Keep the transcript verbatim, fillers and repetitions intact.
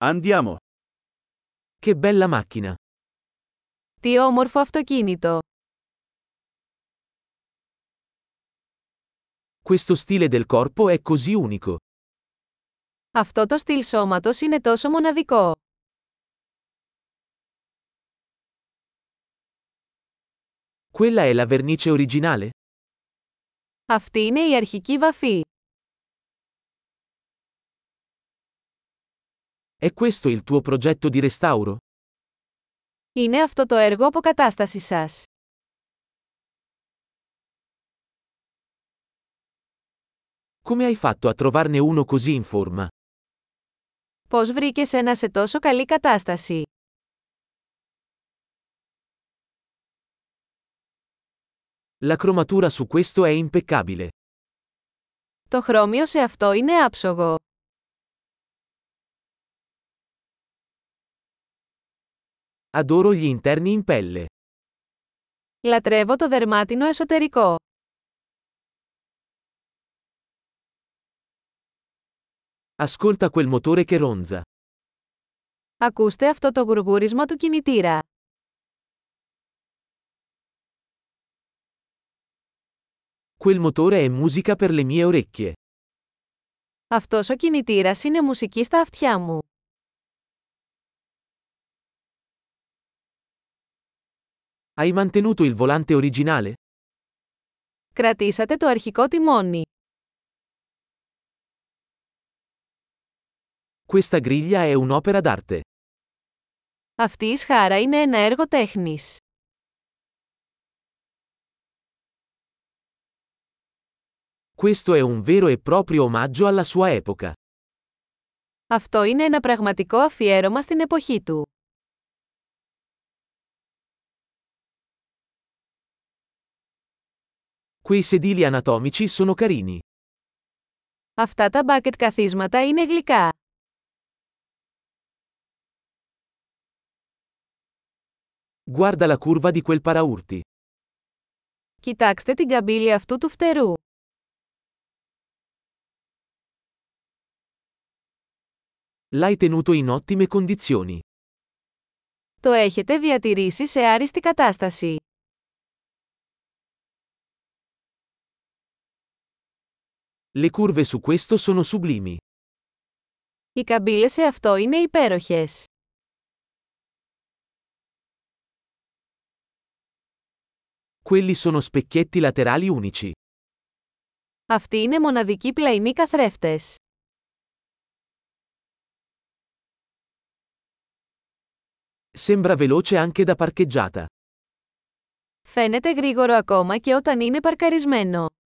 Andiamo. Che bella macchina! Τι όμορφο αυτοκίνητο! Questo stile del corpo è così unico. Αυτό το στυλ σώματος είναι τόσο μοναδικό. Quella è la vernice originale? Αυτή είναι η αρχική βαφή. È questo il tuo progetto di restauro? Είναι αυτό το έργο αποκατάστασης σας. Come hai fatto a trovarne uno così in forma? Πώς βρήκες ένα σε τόσο καλή κατάσταση? La cromatura su questo è impeccabile. Το χρώμιο σε αυτό είναι άψογο. Adoro gli interni in pelle. Λατρεύω το δερμάτινο εσωτερικό. Ascolta quel motore che ronza. Ακούστε αυτό το γουργούρισμα του κινητήρα. Quel motore è musica per le mie orecchie. Αυτός ο κινητήρας είναι μουσική στα αυτιά μου. Hai mantenuto il volante originale? Κρατήσατε το αρχικό τιμόνι. Questa griglia è un'opera d'arte. Αυτή η σχάρα είναι ένα έργο τέχνης. Questo è un vero e proprio omaggio alla sua epoca. Αυτό είναι ένα πραγματικό αφιέρωμα στην εποχή του. Quei sedili anatomici sono carini. Αυτά τα μπάκετ καθίσματα είναι γλυκά. Guarda la curva di quel paraurti. Κοιτάξτε την καμπύλη αυτού του φτερού. L'hai tenuto in ottime condizioni. Το έχετε διατηρήσει σε άριστη κατάσταση. Le curve su questo sono sublimi. Οι καμπύλες σε αυτό είναι υπέροχες. Quelli sono specchietti laterali unici. Αυτοί είναι μοναδικοί πλαϊνοί καθρέφτες. Sembra veloce anche da parcheggiata. Φαίνεται γρήγορο ακόμα και όταν είναι παρκαρισμένο.